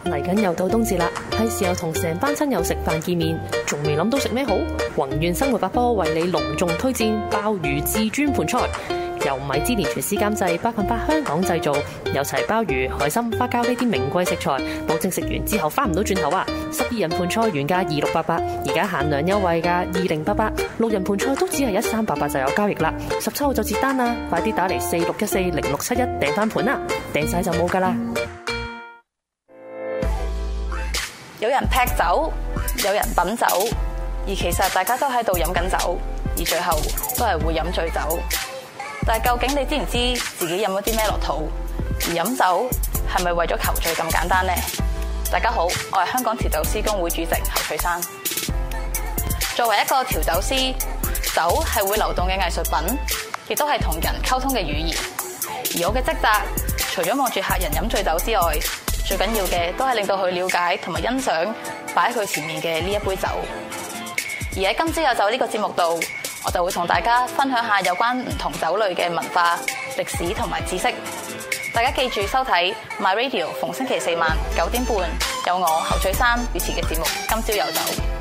嚟緊又到冬至啦，係時候同成班親友食飯見面，仲未諗到食咩好？宏願生活百科為你隆重推薦鮑魚至尊盤菜，由米芝蓮廚師監製，100%香港製造，有齊鮑魚、海參、花膠呢啲名貴食材，保證食完之後翻唔到轉頭啊！12人盤菜原價2688，而家限量優惠價2088，6人盤菜都只係1388就有交易啦，17號就截單啦，快啲打嚟46140671訂翻盤啦，訂晒就冇噶啦！ 有人劈酒，有人品酒，而其實大家都喺度飲緊酒，而最後都係會飲醉酒。但係究竟你知唔知自己飲咗啲咩落肚？而飲酒係咪為咗求醉咁簡單呢？大家好，我係香港調酒師公會主席侯翠珊。作為一個調酒師，酒係會流動嘅藝術品，亦都係同人溝通嘅語言。而我嘅職責，除咗望住客人飲醉酒之外，最緊要嘅都係令到佢了解同埋欣賞擺喺佢前面嘅呢一杯酒。而喺今朝有酒呢個節目度，我就會同大家分享下有關唔同酒類嘅文化、歷史同埋知識。大家記住收睇 My Radio， 逢星期4晚9點半，有我侯翠珊主持嘅節目《今朝有酒》。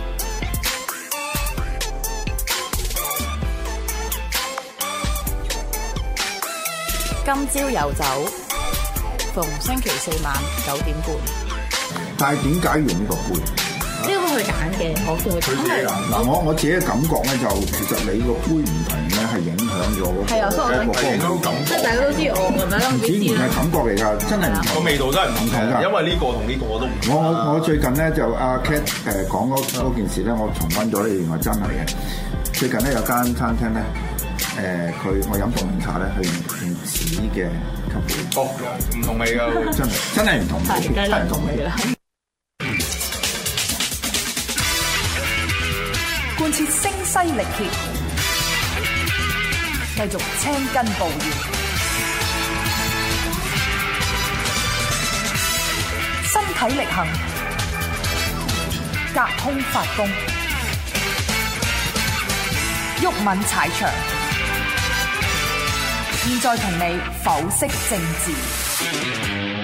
今朝有酒，逢星期4晚9點半。 但係點解用呢個杯？ 呢個佢揀嘅，我叫佢揀。 嗱，我自己嘅感覺咧，就其實你個杯唔同咧，係影響咗嗰個係啊，所以我感覺，即係大家都知我咁樣啦。 唔止唔係感覺嚟㗎，真係唔同。個味道真係唔同㗎。因為呢個同呢個我都唔同。我最近咧就阿 Cat 講嗰件事咧，我重溫咗咧，原來真係嘅。最近咧有間餐廳咧，我飲凍檸茶咧，佢用紙嘅吸管。哦，唔同味㗎，真係唔同味，真係唔同味啦。 貫徹聲嘶力竭，繼續青筋暴現，身體力行，隔空發功，毓民踩場。現在同你剖析政治。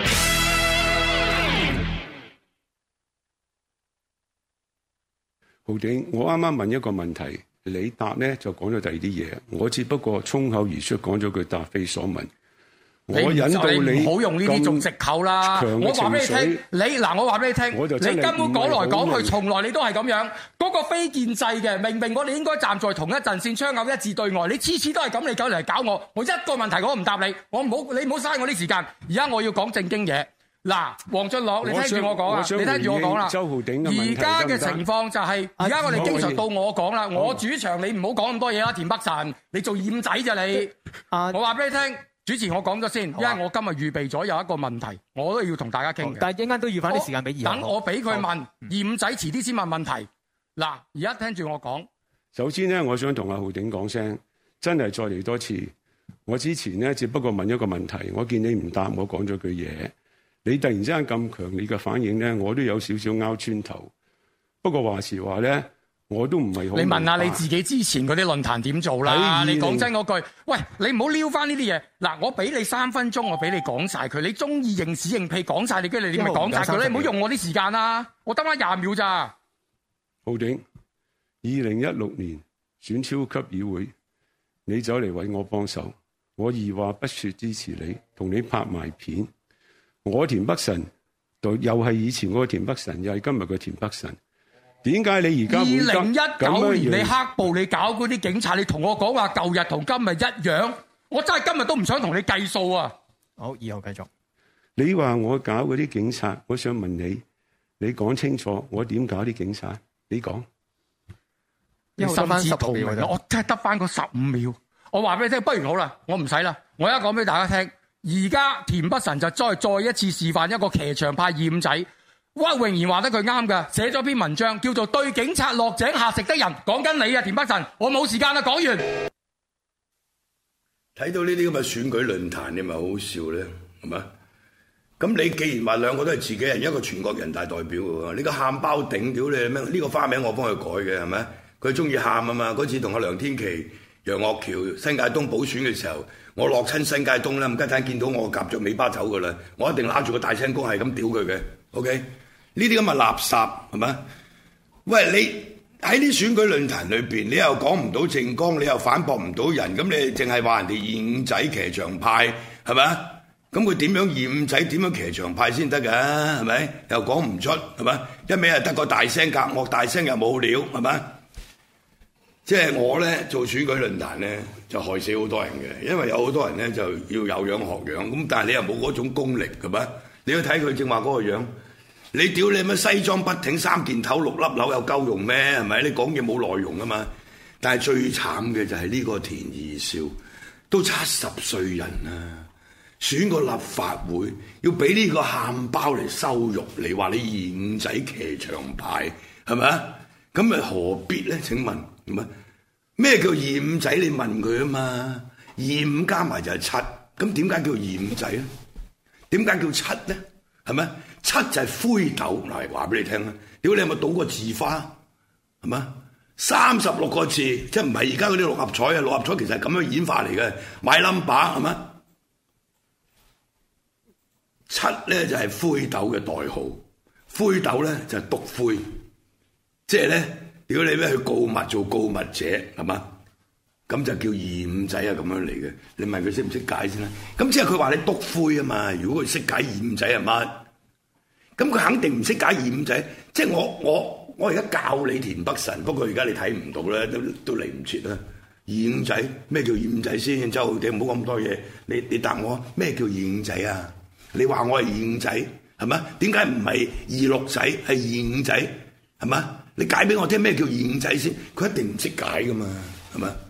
浩鼎，我啱啱問一個問題，你答咧就講咗第二啲嘢，我只不過衝口而出講咗句答非所問。我引導你唔好用呢啲做藉口啦！我話俾你聽，我話俾你聽，你根本講來講去，從來你都係咁樣。嗰個非建制嘅，明明我哋應該站在同一陣線，槍口一致對外，你次次都係咁，你搞嚟搞我，我一個問題我都唔答你，你唔好嘥我啲時間。而家我要講正經嘢。嗱，黃俊樂，你聽住我講啊！你聽住我講啦。 周浩鼎嘅問題， 而家嘅情況就係，而家我哋經常到我講啦。我主場，你唔好講咁多嘢啦。田北辰，你做掩仔咋你？我話俾你聽，主持我講咗先，因為我今日預備咗有一個問題，我都要同大家傾嘅。但係陣間都要返啲時間俾二號。等我俾佢問，掩仔遲啲先問問題。嗱，而家聽住我講。 首先咧，我想同阿浩鼎講聲，真係再嚟多次。我之前咧只不過問一個問題，我見你唔答，我講咗句嘢。你突然之間咁強烈嘅反應咧，我都有少少拗穿頭。不過話時話咧，我都唔係好。你問下你自己之前嗰啲論壇點做啦？你講真嗰句，喂，你唔好撩翻呢啲嘢。嗱，我俾你3分鐘，我俾你講晒佢。你中意認屎認屁講晒，你跟住你咪講晒佢咧。唔好用我啲時間啦，我得翻20秒咋。 浩鼎，2016年選超級議會，你走嚟揾我幫手，我二話不說支持你，同你拍埋片。我田北辰又係以前嗰個田北辰，又係今日嘅田北辰。點解你而家 2019年你黑暴你搞嗰啲警察，你同我講話舊日同今日一樣，我真係今日都唔想同你計數啊！好，以後繼續。 你話我搞嗰啲警察，我想問你，你講清楚，我點搞啲警察？你講。 你心知肚明，我真係得翻嗰15秒。我話俾你聽，不如好啦，我唔使啦，我而家講俾大家聽。而家田北辰就再一次示範一個騎牆派二五仔，屈穎妍話得佢啱㗎，寫咗篇文章叫做《對警察落井下石的人》，講緊你啊，田北辰，我冇時間啦，講完。 睇到呢啲咁嘅選舉論壇，你咪好好笑咧，係咪？咁你既然話兩個都係自己人，一個全國人大代表喎，你個喊包頂屌你咩？呢個花名我幫佢改嘅係咪？佢中意喊啊嘛！嗰次同阿梁天琦、楊岳橋、新界東補選嘅時候，我落親新界東啦，唔家陣見到我夾著尾巴走噶啦，我一定揦住個大聲公係咁屌佢嘅。 OK， 呢啲咁嘅垃圾係咪？喂，你喺啲選舉論壇裏邊，你又講唔到政綱，你又反駁唔到人，咁你淨係話人哋二五仔騎牆派係咪？咁佢點樣二五仔點樣騎牆派先得㗎？係咪？又講唔出係咪？一味係得個大聲隔惡，大聲又冇料係咪？即係我咧做選舉論壇咧，就害死好多人嘅，因為有好多人咧就要有樣學樣，咁但係你又冇嗰種功力係咪？你要睇佢正話嗰個樣，你屌你乜西裝筆挺三件頭六粒紐有夠用咩？係咪？你講嘢冇內容啊嘛！但係最慘嘅就係呢個田二少，都70歲人啦。選個立法會要俾呢個喊包嚟羞辱你，話你二五仔騎牆派係咪啊？咁咪何必咧？請問係咪？咩叫二五仔？你問佢啊嘛。二五加埋就係7，咁點解叫二五仔咧？點解叫7咧？係咪？7就係灰豆嚟，話俾你聽啦。屌你有冇賭過字花？係咪？36個字，即係唔係而家嗰啲六合彩啊？六合彩其實係咁樣演化嚟嘅，買 number 係咪？7咧就係灰豆嘅代號，灰豆咧就係篤灰，即係咧屌你咩去告密做告密者係嘛？咁就叫二五仔啊咁樣嚟嘅。你問佢識唔識解先啦？咁即係佢話你篤灰啊嘛。如果佢識解二五仔係乜？咁佢肯定唔識解二五仔。即係我而家教你田北辰，不過而家你睇唔到咧，都嚟唔切啦。二五仔咩叫二五仔先？周浩鼎唔好咁多嘢，你答我咩叫二五仔啊？你話我係二五仔係咪？點解唔係26仔係二五仔係咪？你解俾我聽咩叫二五仔先？佢一定唔識解噶嘛係咪？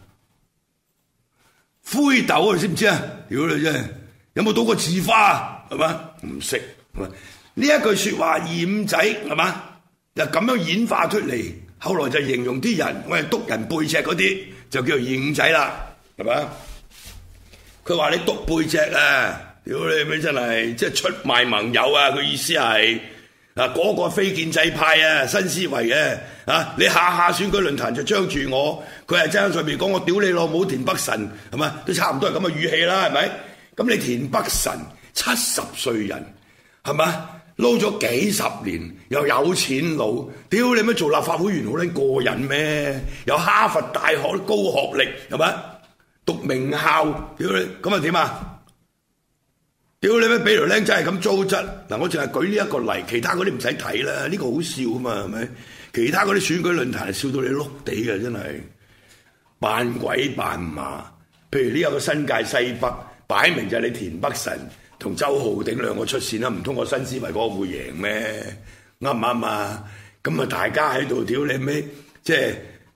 灰豆你知唔知啊？屌你真係有冇賭過字花係嘛？唔識係嘛？呢一句説話二五仔係嘛？就咁樣演化出嚟，後來就形容啲人我係督人背脊嗰啲就叫做二五仔啦係嘛？佢話你督背脊啊！屌你咩真係即係出賣盟友啊！佢意思係嗱嗰個非建制派啊，新思維嘅啊，你下下選舉論壇就將住我，佢係真上面講我屌你老母田北辰係嘛？都差唔多係咁嘅語氣啦，係咪？咁你田北辰70歲人係嘛？撈咗幾十年又有錢佬，屌你咩做立法會員好撚過癮咩？有哈佛大學高學歷係咪？讀名校，屌你咁啊點啊？屌你咩俾條僆仔係咁糟質嗱！我淨係舉呢一個例，其他嗰啲唔使睇啦，呢個好笑啊嘛，係咪？其他嗰啲選舉論壇係笑到你碌地嘅，真係扮鬼扮馬。譬如呢有個新界西北，擺明就係你田北辰同周浩鼎兩個出線啦，唔通過新思維嗰個會贏咩？啱唔啱啊？咁啊，大家喺度屌你咩？即係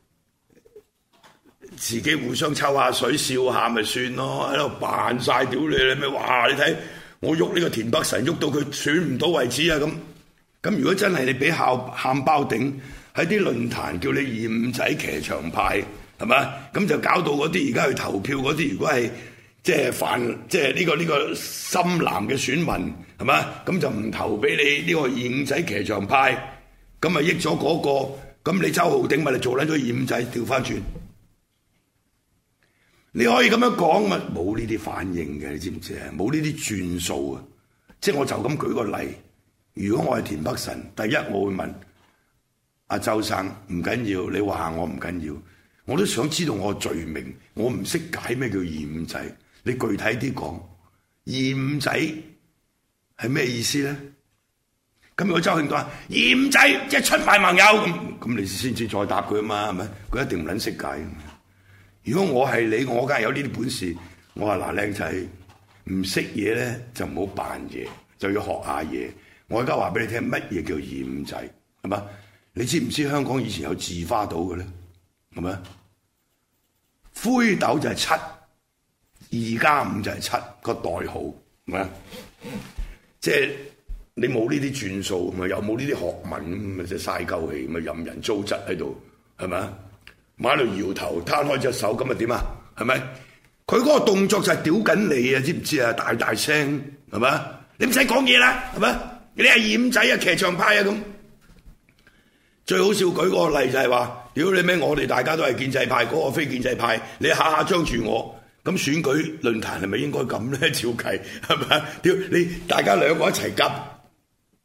自己互相抽下水笑下咪算咯，喺度扮晒屌你咩？哇！你睇我喐呢個田北辰喐到佢選唔到位置啊！咁如果真係你俾喊包頂喺啲論壇叫你二五仔騎牆派係嘛？咁就搞到嗰啲而家去投票嗰啲，如果係即係犯即係呢個深藍嘅選民係嘛？咁就唔投俾你呢個二五仔騎牆派，咁咪益咗嗰個，咁你周浩鼎咪嚟做撚咗二五仔調翻轉。你可以咁樣講嘛？冇呢啲反應嘅，你知唔知啊？冇呢啲轉數啊！即係我就咁舉個例，如果我係田北辰，第一我會問阿周生唔緊要，你話我唔緊要，我都想知道我罪名，我唔識解咩叫二五仔，你具體啲講，二五仔係咩意思咧？咁如果周慶都話二五仔即係出賣盟友咁你先至再答佢啊嘛，係咪？佢一定唔撚識解。如果我係你，我梗係有呢啲本事。我話嗱，靚仔唔識嘢咧，就唔好扮嘢，就要學下嘢。我而家話俾你聽，乜嘢叫二五仔係嘛？你知唔知香港以前有字花島嘅咧？係咪？灰豆就係7，2加5就係7個代號，係咪？即係你冇呢啲轉數，咪又冇呢啲學問，咪就嘥鳩氣，咪任人糟質喺度，係咪？馬路搖頭攤開隻手咁啊點啊？係咪？佢嗰個動作就係屌緊你啊！知唔知啊？大大聲係咪？你唔使講嘢啦，係咪？你係二五仔啊，騎牆派啊咁。最好笑舉個例就係話，屌你咩？我哋大家都係建制派，嗰個非建制派，你下下將住我，咁選舉論壇係咪應該咁咧？照計係咪？屌你大家兩個一齊急，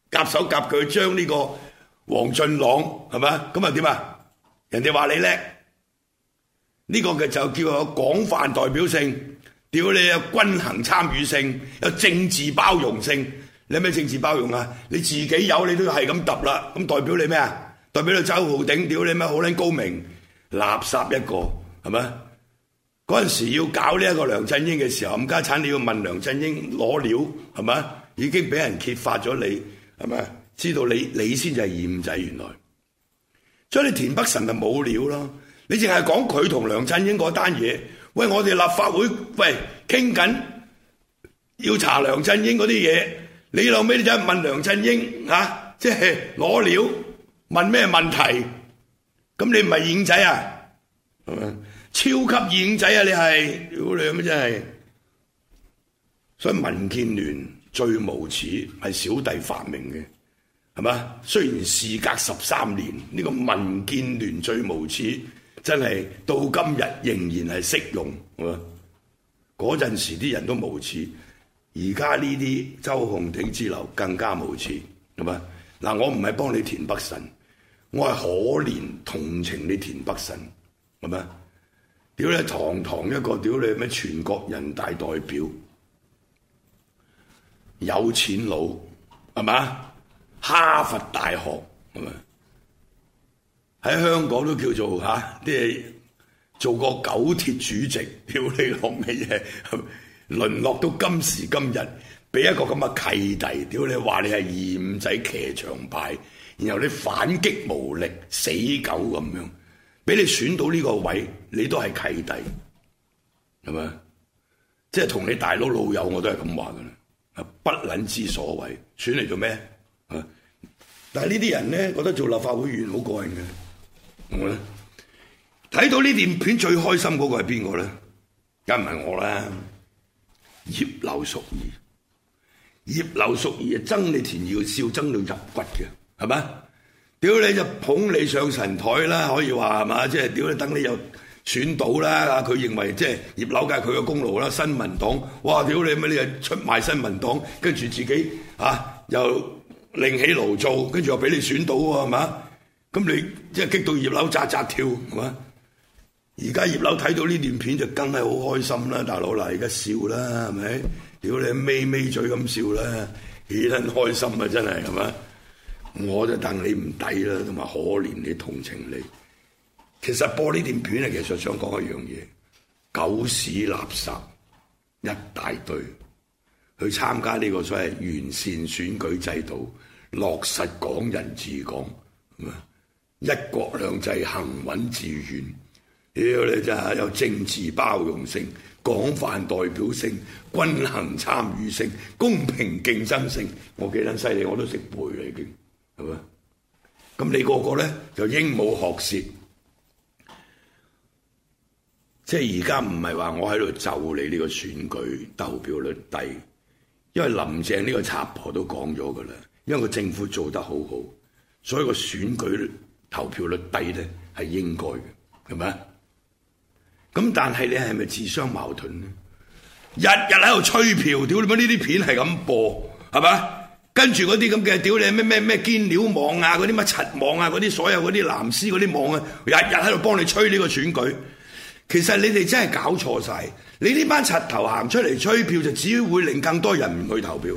夾手夾腳將呢個黃俊朗係咪？咁啊點啊？人哋話你叻，呢個嘅就叫有廣泛代表性，屌你有均衡參與性，有政治包容性。你有咩政治包容啊？你自己有你都係咁揼啦，咁代表你咩啊？代表你周浩鼎，屌你咩好撚高明，垃圾一個係咪？嗰陣時要搞呢一個梁振英嘅時候，冚家產你要問梁振英攞料係咪？已經俾人揭發咗你係咪？知道你先至係二五仔原來，所以你田北辰咪冇料咯。你淨係講佢同梁振英嗰單嘢，喂我哋立法會喂傾緊要查梁振英嗰啲嘢，你後尾就問梁振英啊，即係攞料問咩問題？咁你唔係二五仔啊？係咪？超級二五仔啊！你係屌你咁真係，所以民建聯最無恥係小弟發明嘅。係嘛？雖然事隔13年，呢個民建聯最無恥，真係到今日仍然係適用。係嘛？嗰陣時啲人都無恥，而家呢啲周浩鼎之流更加無恥。係嘛？嗱，我唔係幫你田北辰，我係可憐同情你田北辰。係咪？屌你堂堂一個屌你咩全國人大代表，有錢佬係嘛？哈佛大學係咪？喺香港都叫做即係做過九鐵主席，屌你落咩嘢？淪落到今時今日，俾一個咁嘅契弟，屌你話你係二五仔騎牆派，然後你反擊無力，死狗咁樣，俾你選到呢個位，你都係契弟，係咪？即係同你大佬老友我都係咁話㗎啦，不撚之所謂，選嚟做咩？但係呢啲人咧覺得做立法會議員好過癮嘅，我咧睇到呢段片最開心嗰個係邊個咧？梗唔係我啦，葉劉淑儀。葉劉淑儀啊，憎你田耀少憎到入骨嘅，係咪？屌你就捧你上神台啦，可以話係嘛？即係屌你等你又選到啦，佢認為即係葉劉梗係佢嘅功勞啦。新民黨，哇！屌你乜你又出賣新民黨，跟住自己又另起爐灶，跟住又俾你選到喎，係嘛？咁你即係激到葉劉扎扎跳，係嘛？而家葉劉睇到呢段片就梗係好開心啦，大佬嗱，而家笑啦，係咪？屌你咪咪嘴咁笑啦，幾撚開心啊！真係係嘛？我就戥你唔抵啦，同埋可憐你同情你。其實播呢段片其實想講一樣嘢，狗屎垃圾一大堆，去參加呢個所謂完善選舉制度，落實港人治港，一國兩制行穩致遠。屌你真係有政治包容性、廣泛代表性、均衡參與性、公平競爭性，我幾撚犀利，我都識背啦已經，係咪？咁你個個咧就鸚鵡學舌，即係而家唔係話我喺度就你呢個選舉投票率低，因為林鄭呢個賊婆都講咗㗎啦，因為個政府做得好好，所以個選舉投票率低咧係應該嘅，係咪？咁但係你係咪自相矛盾呢？日日喺度吹票，屌你乜呢啲片係咁播，係嘛？跟住嗰啲咁嘅屌你咩堅料網啊，嗰啲乜柒網啊，嗰啲所有嗰啲藍絲嗰啲網啊，日日喺度幫你吹呢個選舉。其實你哋真係搞錯晒，你呢班柒頭行出嚟吹票，就只會令更多人唔去投票。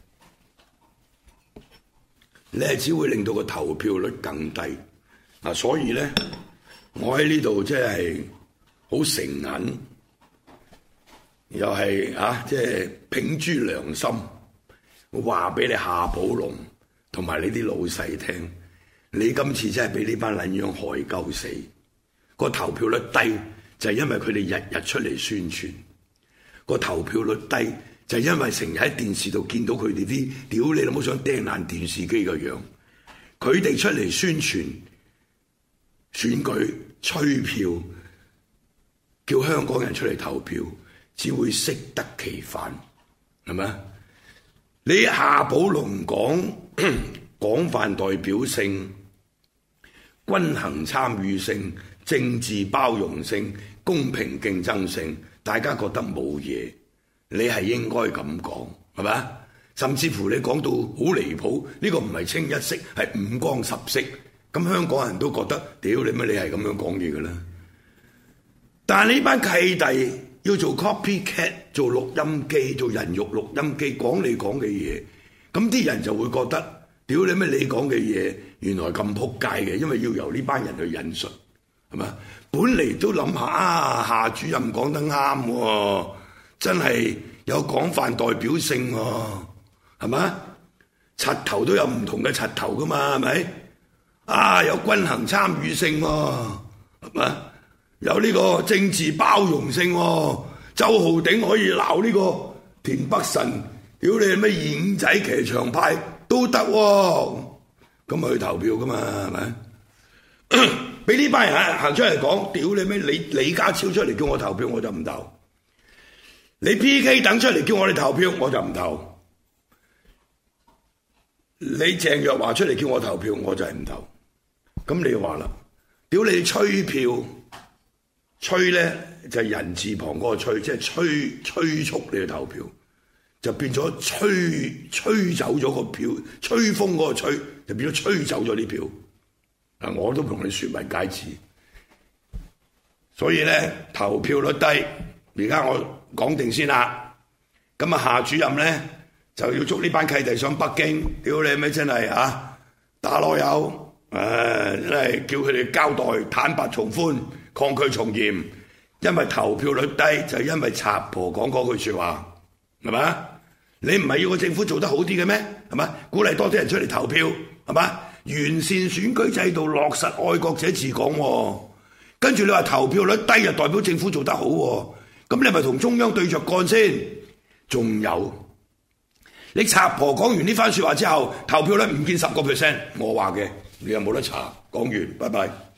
你係只會令到個投票率更低。所以咧，我喺呢度即係好誠懇，又係即係秉諸良心，我話俾你夏寶龍同埋你啲老細聽，你今次真係俾呢班撚樣害鳩死。個投票率低就係因為佢哋日日出嚟宣傳，個投票率低就係因為成日喺電視度見到佢哋啲屌你老母想掟爛電視機嘅樣，佢哋出嚟宣傳選舉吹票，叫香港人出嚟投票，只會適得其反，係咪？你夏寶龍講廣泛代表性、均衡參與性、政治包容性、公平競爭性，大家覺得冇嘢，你係應該咁講，係咪？ 甚至乎你講到好離譜，呢個唔係清一色，係五光十色。咁香港人都覺得，屌你乜你係咁樣講嘢㗎啦！但係呢班契弟要做 copycat， 做錄音機，做人肉錄音機，講你講嘅嘢，咁啲人就會覺得，屌你乜你講嘅嘢原來咁撲街嘅，因為要由呢班人去引述，係嘛？本嚟都諗下啊，夏主任講得啱喎，真係有廣泛代表性喎，係嘛？柒頭都有唔同嘅柒頭㗎嘛，係咪？啊，有均衡參與性喎，係嘛？有呢個政治包容性喎，周浩鼎可以鬧呢個田北辰，屌你咩二五仔騎牆派都得喎，咁咪去投票㗎嘛，係咪？俾呢班人行出嚟講，屌你咩李家超出嚟叫我投票我就唔投，你 PK 等出嚟叫我哋投票我就唔投，你鄭若驊出嚟叫我投票我就係唔投。咁你話啦，屌你吹票，吹咧就係人字旁嗰個吹，即係催促你去投票，就變咗吹走咗個票，吹風嗰個吹就變咗吹走咗啲票。嗱，我都同你説明解釋，所以咧投票率低，而家我講定先啦。咁啊，夏主任咧就要捉呢班契弟上北京，屌你咩真係啊打籮柚。真係叫佢哋交代坦白從寬，抗拒從嚴，因為投票率低就係因為賊婆講嗰句説話，係嘛？你唔係要個政府做得好啲嘅咩？係嘛？鼓勵多啲人出嚟投票，係嘛？完善選舉制度，落實愛國者治港喎。跟住你話投票率低就代表政府做得好喎，咁你係咪同中央對着幹先？仲有你賊婆講完呢番説話之後，投票率唔見10%，我話嘅。你有冇得查？講完，拜拜。